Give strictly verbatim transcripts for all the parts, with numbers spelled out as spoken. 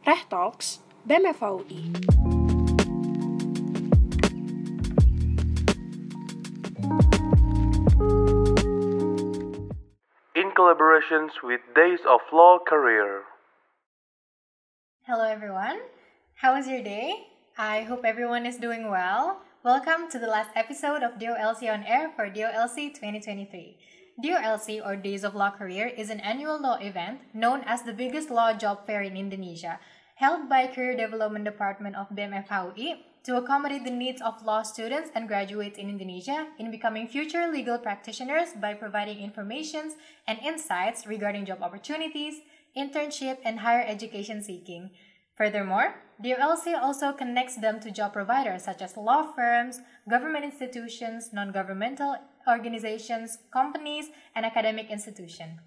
Teh Talks, B E M F H U I. In collaborations with Days of Law Career. Hello everyone, how was your day? I hope everyone is doing well. Welcome to the last episode of D O L C on Air for D O L C twenty twenty-three. D O L C, or Days of Law Career, is an annual law event known as the biggest law job fair in Indonesia, held by Career Development Department of B E M F H U I to accommodate the needs of law students and graduates in Indonesia in becoming future legal practitioners by providing information and insights regarding job opportunities, internship, and higher education seeking. Furthermore, D O L C also connects them to job providers such as law firms, government institutions, non-governmental organizations, companies, and academic institutions.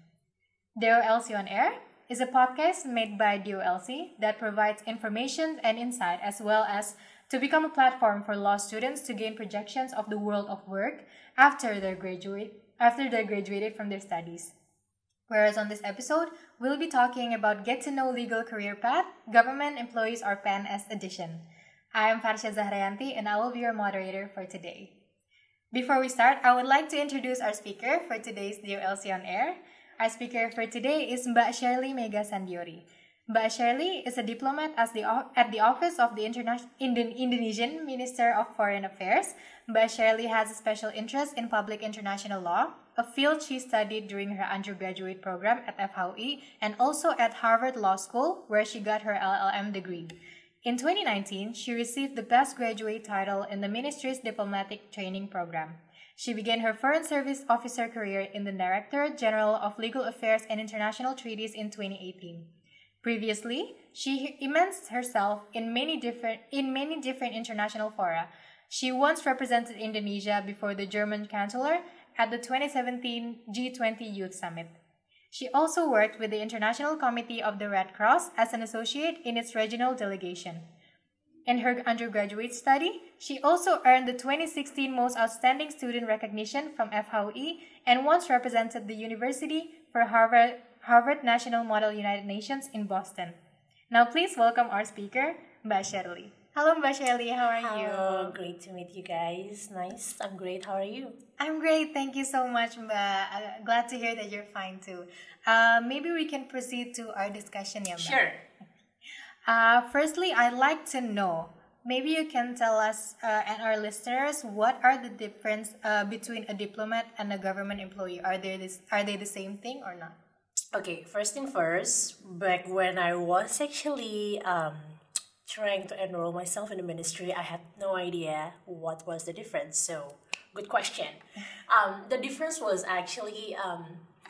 D O L C on Air is a podcast made by D O L C that provides information and insight, as well as to become a platform for law students to gain projections of the world of work after they graduate after they graduated from their studies. Whereas on this episode, we'll be talking about Get to Know Legal Career Path, Government Employees or P E N S edition. I am Farsha Zahrayanti and I will be your moderator for today. Before we start, I would like to introduce our speaker for today's D O L C on Air. Our speaker for today is Mbak Shirley Mega Sandiori. Mbak Shirley is a diplomat as the, at the Office of the Interna- Indo- Indonesian Minister of Foreign Affairs. Mbak Shirley has a special interest in public international law, a field she studied during her undergraduate program at F H U I and also at Harvard Law School, where she got her L L M degree. In twenty nineteen, she received the Best Graduate title in the Ministry's Diplomatic Training Program. She began her Foreign Service Officer career in the Director General of Legal Affairs and International Treaties in twenty eighteen. Previously, she immersed herself in many different in many different international fora. She once represented Indonesia before the German Chancellor at the twenty seventeen G twenty Youth Summit. She also worked with the International Committee of the Red Cross as an associate in its regional delegation. In her undergraduate study, she also earned the twenty sixteen Most Outstanding Student Recognition from F H U I and once represented the university for Harvard, Harvard National Model United Nations in Boston. Now please welcome our speaker, Mbak Shirley. Hello, Mbak Shirley. How are Hello, you? Hello, great to meet you guys. Nice. I'm great. How are you? I'm great. Thank you so much, Mbak. Uh, glad to hear that you're fine too. Uh, maybe we can proceed to our discussion, yeah, Mbak? Sure. Uh, firstly, I'd like to know, maybe you can tell us uh, and our listeners, what are the difference uh, between a diplomat and a government employee? Are they this, are they the same thing or not? Okay, first thing first, back when I was actually um, trying to enroll myself in the ministry, I had no idea what was the difference. So, good question. Um, the difference was actually, um,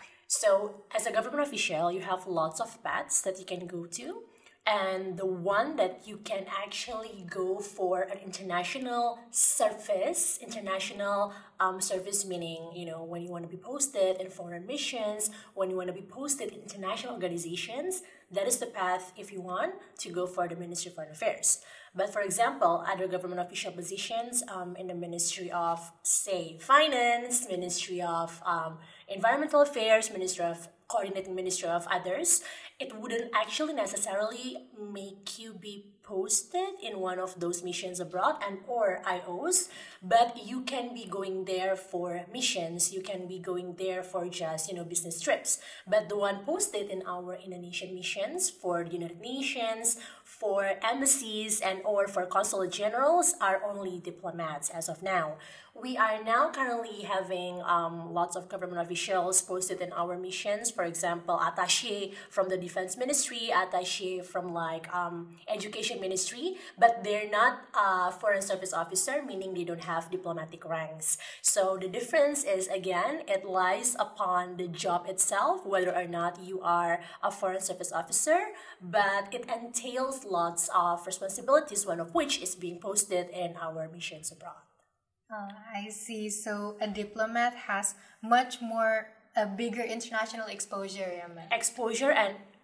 so as a government official, you have lots of paths that you can go to. And the one that you can actually go for an international service, international um, service meaning, you know, when you want to be posted in foreign missions, when you want to be posted in international organizations, that is the path if you want to go for the Ministry of Foreign Affairs. But for example, other government official positions um, in the Ministry of, say, Finance, Ministry of um, Environmental Affairs, Ministry of Coordinating Ministry of others, it wouldn't actually necessarily make you be posted in one of those missions abroad and or I Os, but you can be going there for missions, you can be going there for just, you know, business trips. But the one posted in our Indonesian missions for the United Nations, for embassies, and or for consulate generals are only diplomats as of now. We are now currently having um, lots of government officials posted in our missions. For example, attaché from the Defense Ministry, attaché from like um, Education Ministry, but they're not a Foreign Service Officer, meaning they don't have diplomatic ranks. So the difference is, again, it lies upon the job itself, whether or not you are a Foreign Service Officer, but it entails lots of responsibilities, one of which is being posted in our missions abroad. Oh, I see. So a diplomat has much more, a bigger international exposure, yeah, ma'am. Exposure and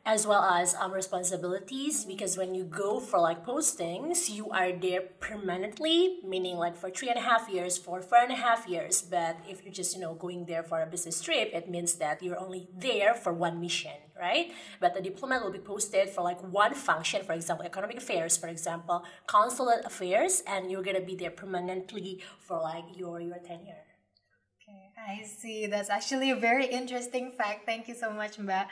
as well as um, responsibilities, because when you go for like postings, you are there permanently, meaning like for three and a half years, for four and a half years. But if you're just, you know, going there for a business trip, it means that you're only there for one mission, right? But the diplomat will be posted for like one function, for example, economic affairs, for example, consulate affairs, and you're gonna be there permanently for like your, your tenure. Okay, I see. That's actually a very interesting fact. Thank you so much, Mbak.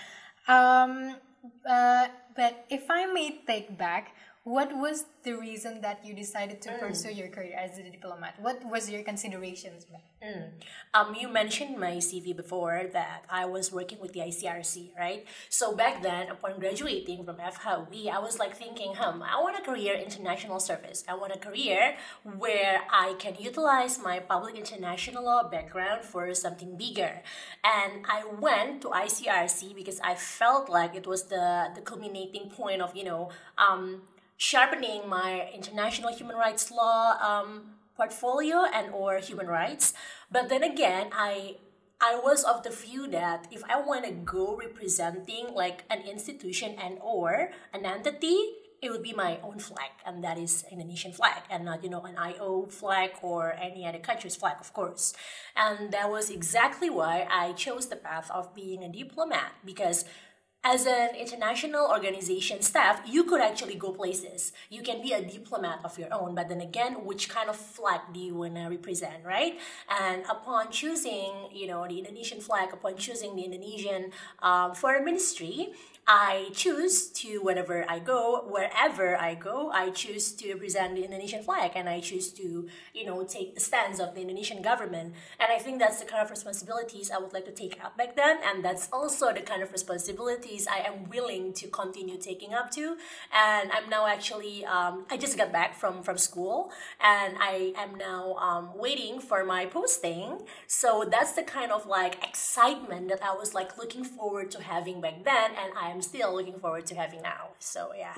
Um, uh, but if I may take back, what was the reason that you decided to mm. pursue your career as a diplomat? What was your considerations? Mm. Um, you mentioned my C V before that I was working with the I C R C, right? So back then, upon graduating from F H U, I was like thinking, hmm, I want a career in international service. I want a career where I can utilize my public international law background for something bigger. And I went to I C R C because I felt like it was the, the culminating point of, you know, um, sharpening my international human rights law um, portfolio and or human rights. But then again, I I was of the view that if I want to go representing like an institution and or an entity, it would be my own flag, and that is Indonesian flag, and not, you know, an I O flag or any other country's flag, of course. And that was exactly why I chose the path of being a diplomat, because as an international organization staff, you could actually go places. You can be a diplomat of your own, but then again, which kind of flag do you want to represent, right? And upon choosing, you know, the Indonesian flag, upon choosing the Indonesian um, foreign ministry, I choose to, whenever I go, wherever I go, I choose to represent the Indonesian flag, and I choose to, you know, take the stance of the Indonesian government. And I think that's the kind of responsibilities I would like to take up back then, and that's also the kind of responsibilities I am willing to continue taking up to. And I'm now actually, um, I just got back from, from school, and I am now um, waiting for my posting. So that's the kind of like excitement that I was like looking forward to having back then, and I I'm still looking forward to having now. So yeah.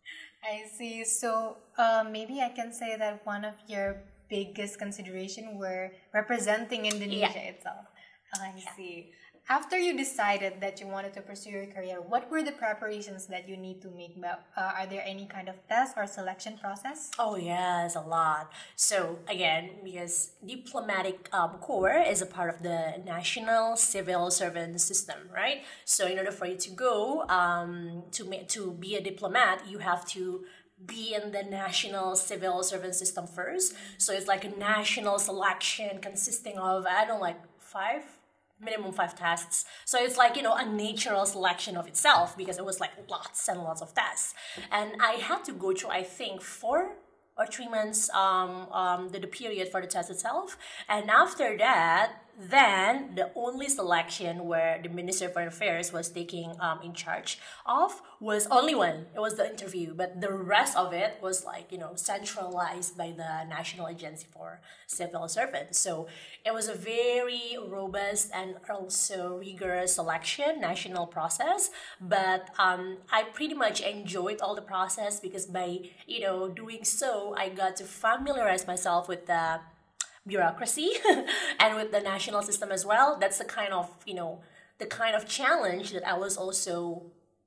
I see. So uh, maybe I can say that one of your biggest consideration were representing Indonesia yeah. itself. I yeah. see. After you decided that you wanted to pursue your career, what were the preparations that you need to make? Uh, are there any kind of test or selection process? Oh yes, a lot. So again, because diplomatic um, corps is a part of the national civil servant system, right? So in order for you to go um, to ma- to be a diplomat, you have to be in the national civil servant system first. So it's like a national selection consisting of, I don't know, like five minimum five tests. So it's like, you know, a natural selection of itself, because it was like lots and lots of tests. And I had to go through, I think, four or three months um, um, the, the period for the test itself. And after that, then the only selection where the Minister of Foreign Affairs was taking um, in charge of was only one. It was the interview, but the rest of it was like, you know, centralized by the National Agency for Civil Servants. So it was a very robust and also rigorous selection, national process. But um, I pretty much enjoyed all the process, because by, you know, doing so, I got to familiarize myself with the bureaucracy and with the national system as well. That's the kind of, you know, the kind of challenge that I was also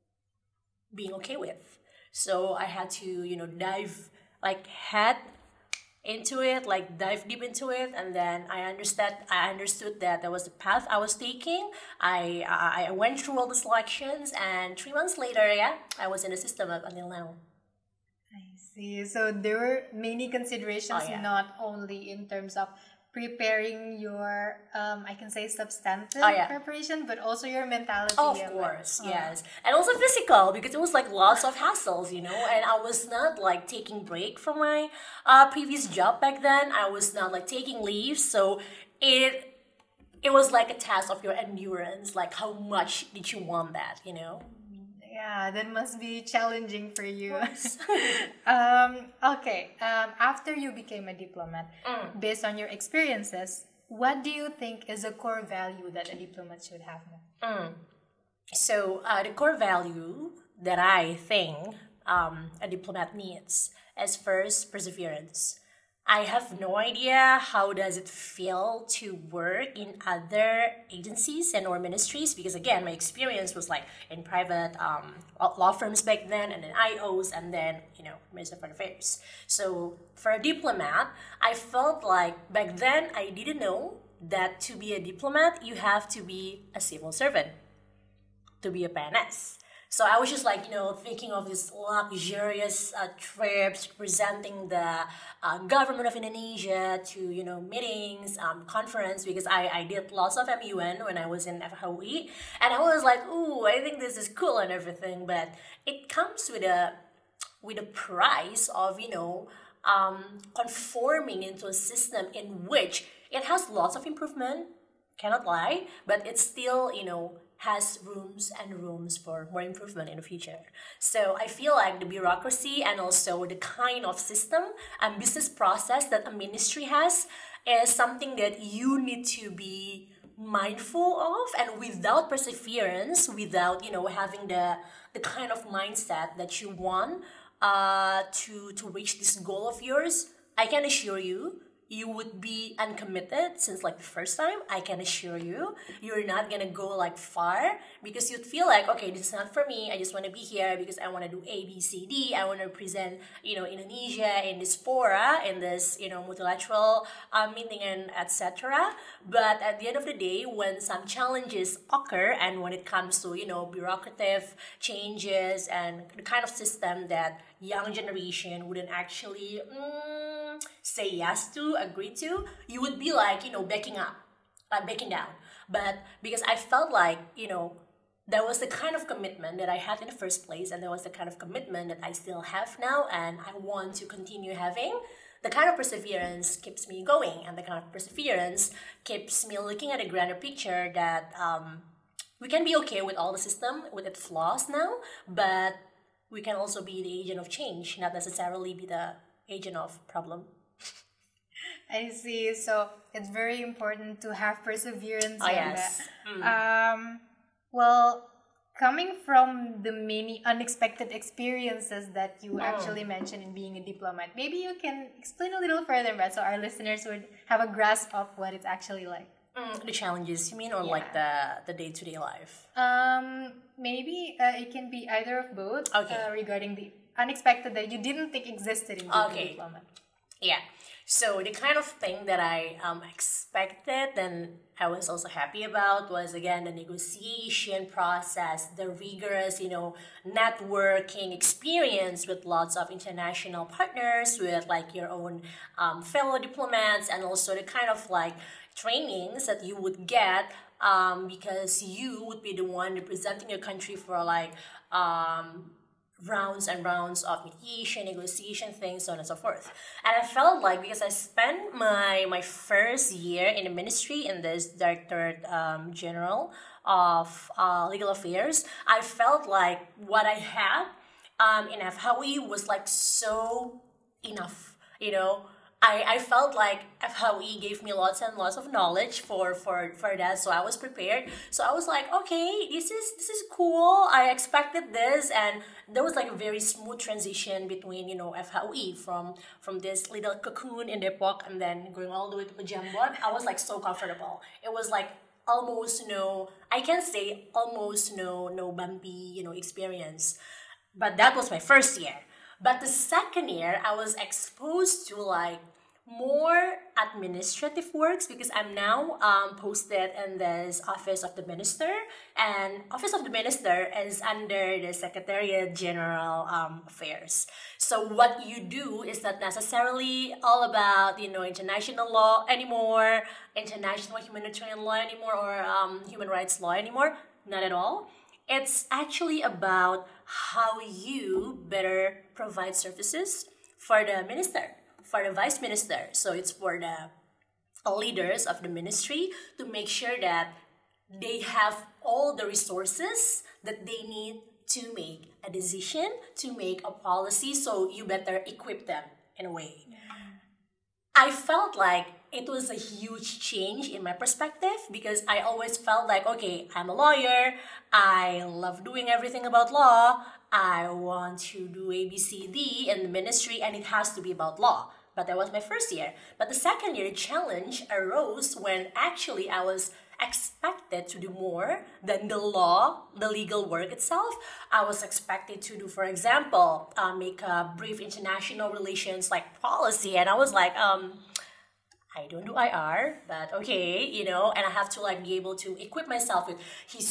being okay with. So I had to, you know, dive like head into it, like dive deep into it, and then I understood I understood that that was the path I was taking. I I went through all the selections, and three months later, yeah, I was in the system up until now. I see. So there were many considerations, oh, yeah. not only in terms of preparing your, um, I can say substantive oh, yeah. preparation, but also your mentality. Of course, oh. yes. And also physical, because it was like lots of hassles, you know, and I was not like taking break from my uh, previous job back then. I was not like taking leave. So it, it was like a test of your endurance, like how much did you want that, you know? Yeah, that must be challenging for you. um, okay, um, after you became a diplomat, mm. based on your experiences, what do you think is a core value that a diplomat should have? Mm. So uh, the core value that I think um, a diplomat needs is first perseverance. I have no idea how does it feel to work in other agencies and or ministries, because again my experience was like in private um, law firms back then, and then I Os, and then you know Minister of Foreign Affairs. So for a diplomat, I felt like back then I didn't know that to be a diplomat you have to be a civil servant to be a P N S. So I was just like, you know, thinking of these luxurious uh, trips, presenting the uh, government of Indonesia to, you know, meetings, um, conference, because I, I did lots of M U N when I was in F H U I. And I was like, ooh, I think this is cool and everything. But it comes with a, with a price of, you know, um, conforming into a system in which it has lots of improvement, cannot lie, but it's still, you know, has rooms and rooms for more improvement in the future. So I feel like the bureaucracy and also the kind of system and business process that a ministry has is something that you need to be mindful of, and without perseverance, without, you know, having the the kind of mindset that you want uh, to to reach this goal of yours, I can assure you you would be uncommitted since like the first time. I can assure you you're not gonna go like far, because you'd feel like, okay, this is not for me. I just want to be here because I want to do A, B, C, D. I want to present, you know, Indonesia in this fora, in this, you know, multilateral uh, meeting and et cetera. But at the end of the day, when some challenges occur and when it comes to, you know, bureaucratic changes and the kind of system that young generation wouldn't actually mm, say yes to, agree to, you would be like, you know, backing up, like backing down. But because I felt like, you know, there was the kind of commitment that I had in the first place, and there was the kind of commitment that I still have now, and I want to continue having. The kind of perseverance keeps me going, and the kind of perseverance keeps me looking at a grander picture that um, we can be okay with all the system, with its flaws now, but we can also be the agent of change, not necessarily be the agent of problem. I see. So it's very important to have perseverance. Oh, in yes. that. Mm. Um, well, coming from the many unexpected experiences that you Mm. actually mentioned in being a diplomat, maybe you can explain a little further, but so our listeners would have a grasp of what it's actually like. Mm, the challenges, you mean, or Yeah. like the, the day-to-day life? Um, maybe uh, it can be either of both. Okay. Uh, regarding the unexpected that you didn't think existed in being Okay. a diplomat. Yeah. So the kind of thing that I um, expected and I was also happy about was, again, the negotiation process, the rigorous, you know, networking experience with lots of international partners, with like your own um, fellow diplomats, and also the kind of like trainings that you would get um, because you would be the one representing your country for like um, rounds and rounds of mediation, negotiation, things, so on and so forth. And I felt like, because I spent my my first year in the ministry in this Director um, General of uh, Legal Affairs, I felt like what I had um, in F H U I was like so enough, you know. I, I felt like F H U I gave me lots and lots of knowledge for, for, for that, so I was prepared. So I was like, okay, this is this is cool. I expected this, and there was like a very smooth transition between, you know, F H U I from from this little cocoon in Depok and then going all the way to Pejambon. I was like so comfortable. It was like almost no, I can say almost no no bumpy, you know, experience. But that was my first year. But the second year, I was exposed to like more administrative works, because I'm now um, posted in this Office of the Minister, and Office of the Minister is under the Secretariat General um, Affairs. So what you do is not necessarily all about, you know, international law anymore, international humanitarian law anymore, or um, human rights law anymore. Not at all. It's actually about how you better provide services for the minister, for the vice minister. So it's for the leaders of the ministry to make sure that they have all the resources that they need to make a decision, to make a policy. So you better equip them in a way. I felt like it was a huge change in my perspective, because I always felt like, okay, I'm a lawyer, I love doing everything about law, I want to do A B C D in the ministry, and it has to be about law. But that was my first year. But the second year challenge arose when actually I was expected to do more than the law, the legal work itself. I was expected to do, for example, uh, make a brief international relations like policy, and I was like, um, I don't do I R, but okay, you know, and I have to like be able to equip myself with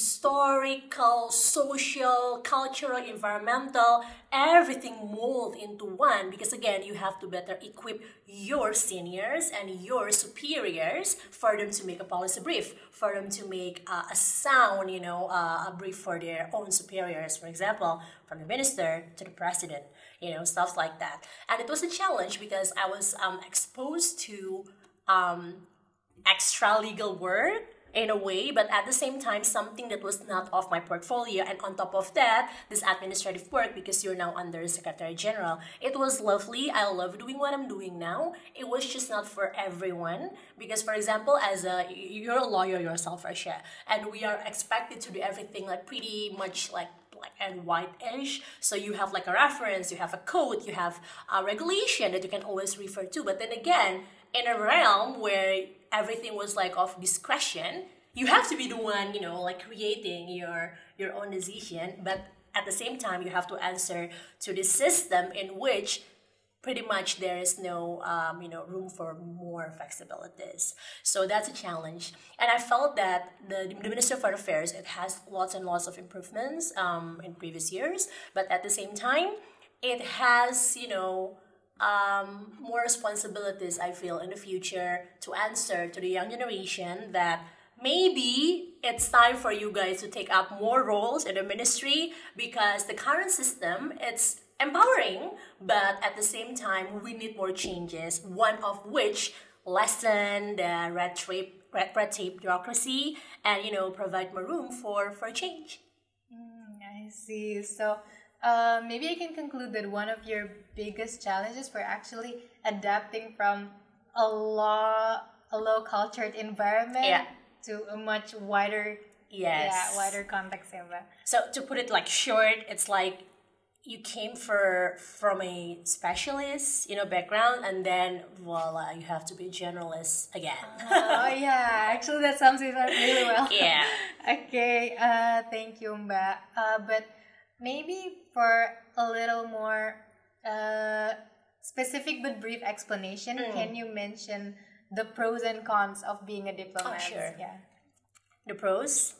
historical, social, cultural, environmental, everything mold into one, because again, you have to better equip your seniors and your superiors for them to make a policy brief, for them to make uh, a sound, you know, uh, a brief for their own superiors, for example, from the minister to the president, you know, stuff like that. And it was a challenge because I was um, exposed to um, extra legal work in a way, but at the same time, something that was not off my portfolio. And on top of that, this administrative work, because you're now under Secretary General. It was lovely. I love doing what I'm doing now. It was just not for everyone. Because, for example, as a, you're a lawyer yourself, Rasha, and we are expected to do everything like pretty much like black and white-ish. So you have like a reference, you have a code, you have a regulation that you can always refer to. But then again, in a realm where everything was like of discretion, you have to be the one, you know, like creating your your own decision, but at the same time you have to answer to the system in which pretty much there is no um, you know, room for more flexibilities. So that's a challenge. And I felt that the, the Minister of Foreign Affairs, it has lots and lots of improvements um, in previous years, but at the same time it has, you know, Um, more responsibilities, I feel, in the future to answer to the young generation that maybe it's time for you guys to take up more roles in the ministry, because the current system, it's empowering, but at the same time, we need more changes, one of which lessen the red tape, red, red tape bureaucracy and, you know, provide more room for, for change. Mm, I see. So, Uh, maybe I can conclude that one of your biggest challenges were actually adapting from a law, a low cultured environment Yeah. to a much wider, Yes. yeah, wider context. Yeah, but- So to put it like short, it's like you came for from a specialist, you know, background, and then voila, you have to be a generalist again. oh yeah, actually that sums it up really well. Yeah. Okay. Uh, thank you, Mbak. Uh, but maybe for a little more uh, specific but brief explanation, Mm. can you mention the pros and cons of being a diplomat? Oh, sure. Yeah. The pros,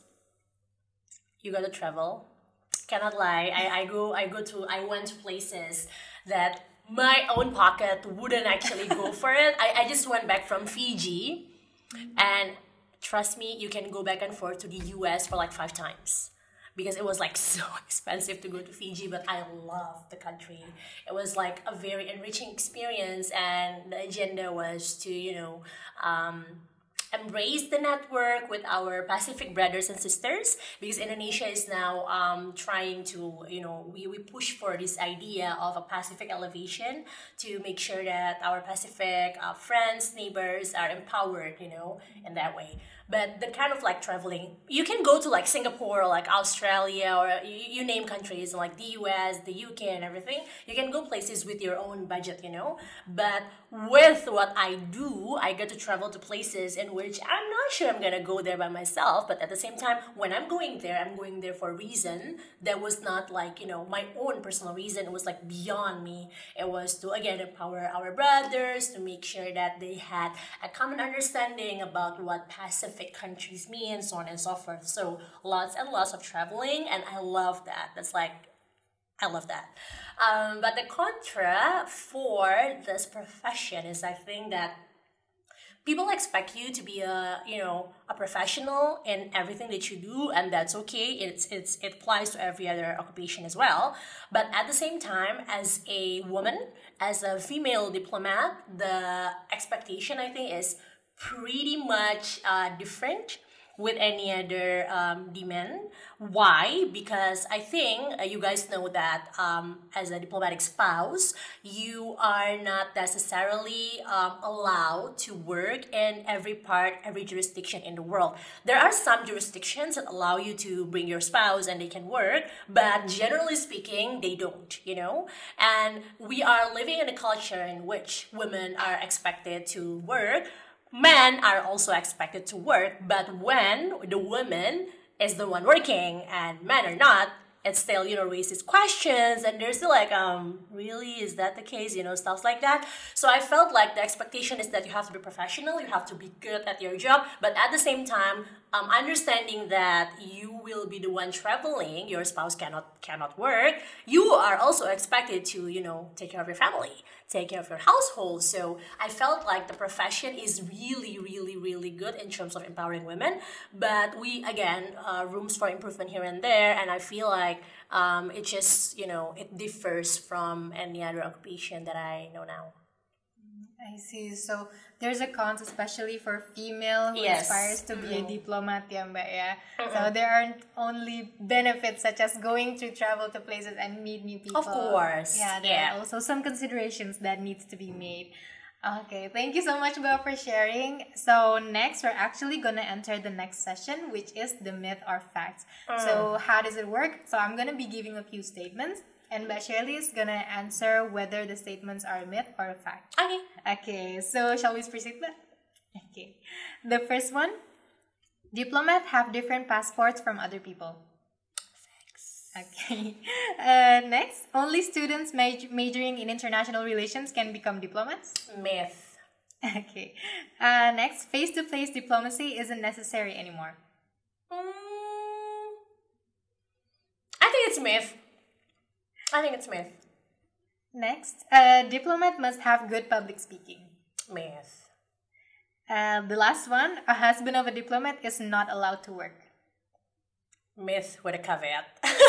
you gotta travel. Cannot lie. I, I go I go to I went to places that my own pocket wouldn't actually go for it. I, I just went back from Fiji, and trust me, you can go back and forth to the U S for like five times. Because it was like so expensive to go to Fiji, but I loved the country. It was like a very enriching experience, and the agenda was to, you know, um, embrace the network with our Pacific brothers and sisters, because Indonesia is now um, trying to, you know, we, we push for this idea of a Pacific elevation to make sure that our Pacific uh, friends, neighbors are empowered, you know, in that way. But the kind of like traveling, you can go to like Singapore or like Australia or you, you name countries like the U S, the U K and everything. You can go places with your own budget, you know. But with what I do, I get to travel to places in which I'm not sure I'm gonna go there by myself. But at the same time, when I'm going there, I'm going there for a reason that was not like, you know, my own personal reason. It was like beyond me. It was to again empower our brothers, to make sure that they had a common understanding about what Pacific countries mean, so on and so forth. So lots and lots of traveling, and I love that. That's like, I love that. Um, but the contra for this profession is, I think that people expect you to be a, you know, a professional in everything that you do, and that's okay. It's it's it applies to every other occupation as well. But at the same time, as a woman, as a female diplomat, the expectation, I think, is pretty much uh, different with any other um, demand. Why? Because I think uh, you guys know that um, as a diplomatic spouse, you are not necessarily um, allowed to work in every part, every jurisdiction in the world. There are some jurisdictions that allow you to bring your spouse and they can work, but generally speaking, they don't, you know? And we are living in a culture in which women are expected to work. Men are also expected to work, but when the woman is the one working and men are not, it still, you know, raises questions, and there's still like, um, really, is that the case? You know, stuff like that. So I felt like the expectation is that you have to be professional, you have to be good at your job, but at the same time, um, understanding that you will be the one traveling, your spouse cannot cannot work, you are also expected to, you know, take care of your family, take care of your household. So I felt like the profession is really, really, really good in terms of empowering women. But we, again, uh, rooms for improvement here and there. And I feel like um, it just, you know, it differs from any other occupation that I know now. I see. So there's a cons, especially for female who Yes. aspires to be Mm-hmm. a diplomat, yeah, Mbak, yeah. Mm-hmm. So there aren't only benefits such as going to travel to places and meet new people. Of course, Yeah, there yeah. are also some considerations that needs to be made. Okay, thank you so much, Mbak, for sharing. So next, we're actually gonna enter the next session, which is the myth or facts. So how does it work? So I'm gonna be giving a few statements, and Mbak Shirley is gonna answer whether the statements are a myth or a fact. Okay. Okay, so shall we proceed with? Okay. The first one, diplomats have different passports from other people. Okay. Uh, next, only students maj- majoring in international relations can become diplomats. Myth. Okay. Uh, next, face-to-face diplomacy isn't necessary anymore. Mm, I think it's myth. I think it's myth. Next, a diplomat must have good public speaking. Myth. Uh, the last one, a husband of a diplomat is not allowed to work. Myth with a caveat.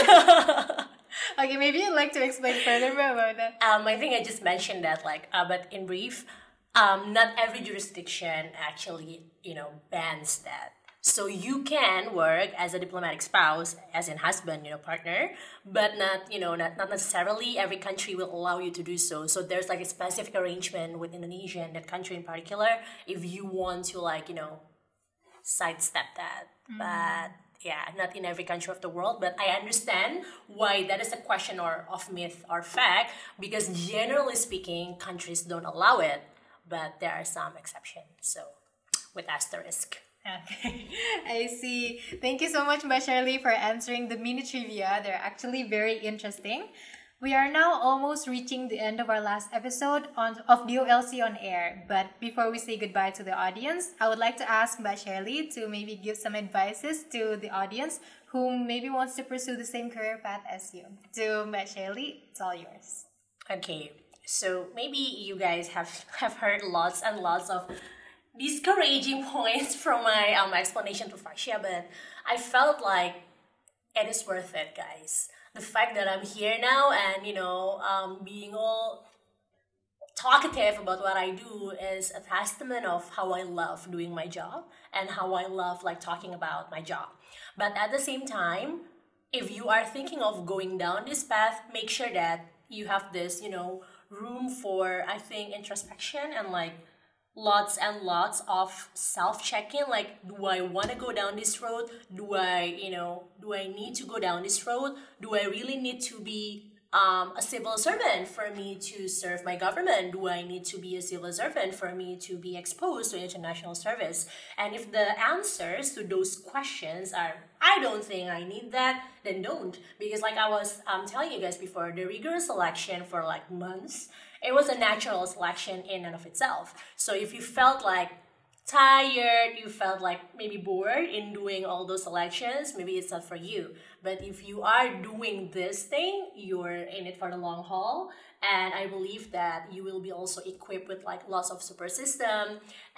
Okay, maybe you'd like to explain further about that. Um, I think I just mentioned that, like, uh, but in brief, um, not every jurisdiction actually, you know, bans that. So you can work as a diplomatic spouse, as in husband, you know, partner, but not, you know, not, not necessarily every country will allow you to do so. So there's like a specific arrangement with Indonesia and that country in particular if you want to, like, you know, sidestep that. Mm. But yeah, not in every country of the world. But I understand why that is a question or of myth or fact, because generally speaking, countries don't allow it, but there are some exceptions. So with asterisk. Okay, I see. Thank you so much, Mbak Shirley, for answering the mini trivia. They're actually very interesting. We are now almost reaching the end of our last episode on, of D O L C on Air. But before we say goodbye to the audience, I would like to ask Mbak Shirley to maybe give some advices to the audience who maybe wants to pursue the same career path as you. To Mbak Shirley, it's all yours. Okay, so maybe you guys have, have heard lots and lots of discouraging points from my um, explanation to Fascia, but I felt like it is worth it, guys. The fact that I'm here now and, you know, um, being all talkative about what I do is a testament of how I love doing my job and how I love, like, talking about my job. But at the same time, if you are thinking of going down this path, make sure that you have this, you know, room for, I think, introspection and, like, lots and lots of self-checking, like, do I want to go down this road? Do I, you know, do I need to go down this road? Do I really need to be um, a civil servant for me to serve my government? Do I need to be a civil servant for me to be exposed to international service? And if the answers to those questions are, I don't think I need that, then don't. Because like I was um, telling you guys before, the rigorous selection for like months, it was a natural selection in and of itself. So if you felt like tired, you felt like maybe bored in doing all those selections, maybe it's not for you. But if you are doing this thing, you're in it for the long haul. And I believe that you will be also equipped with like lots of support system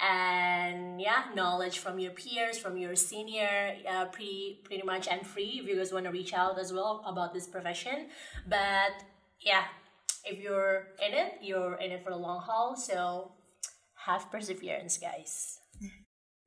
and yeah, knowledge from your peers, from your senior, uh, pretty pretty much and free if you guys want to reach out as well about this profession. But yeah, if you're in it, you're in it for the long haul. So have perseverance, guys.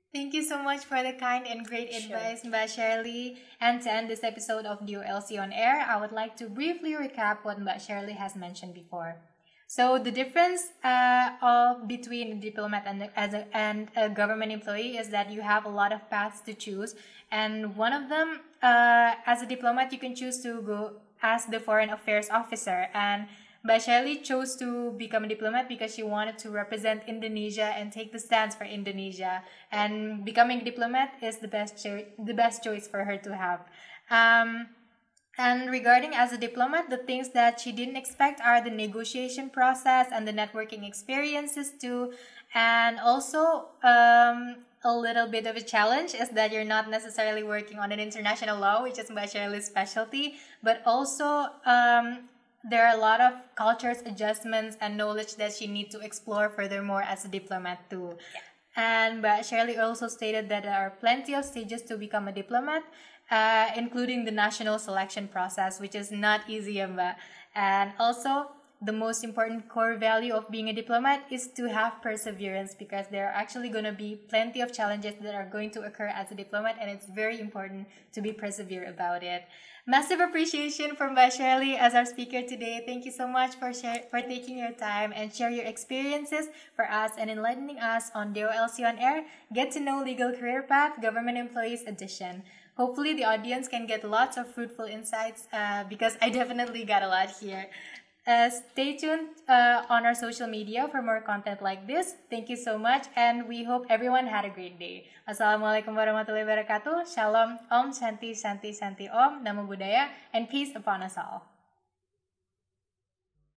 Thank you so much for the kind and great Sure. advice, Mbak Shirley. And to end this episode of D O L C on Air, I would like to briefly recap what Mbak Shirley has mentioned before. So the difference uh, of between a diplomat and a, as a, and a government employee is that you have a lot of paths to choose, and one of them, uh, as a diplomat, you can choose to go as the foreign affairs officer, and Mbak Shirley chose to become a diplomat because she wanted to represent Indonesia and take the stance for Indonesia, and becoming a diplomat is the best cho- the best choice for her to have. Um, and regarding as a diplomat, the things that she didn't expect are the negotiation process and the networking experiences too. And also, um, a little bit of a challenge is that you're not necessarily working on an international law, which is Mbak Shirley's specialty, but also um, there are a lot of cultures, adjustments, and knowledge that she needs to explore furthermore as a diplomat too. And but Shirley also stated that there are plenty of stages to become a diplomat, uh, including the national selection process, which is not easy, ya, Mbak. And also, the most important core value of being a diplomat is to have perseverance, because there are actually going to be plenty of challenges that are going to occur as a diplomat, and it's very important to be persevere about it. Massive appreciation for Mbak Shirley as our speaker today. Thank you so much for share, for taking your time and share your experiences for us and enlightening us on D O L C on Air, Get to Know Legal Career Path, Government Employees Edition. Hopefully the audience can get lots of fruitful insights, uh, because I definitely got a lot here. Uh, stay tuned uh, on our social media for more content like this. Thank you so much, and we hope everyone had a great day. Wassalamualaikum warahmatullahi wabarakatuh. Shalom, Om, Shanti, Shanti, Shanti, Om, Namo Buddhaya, and peace upon us all.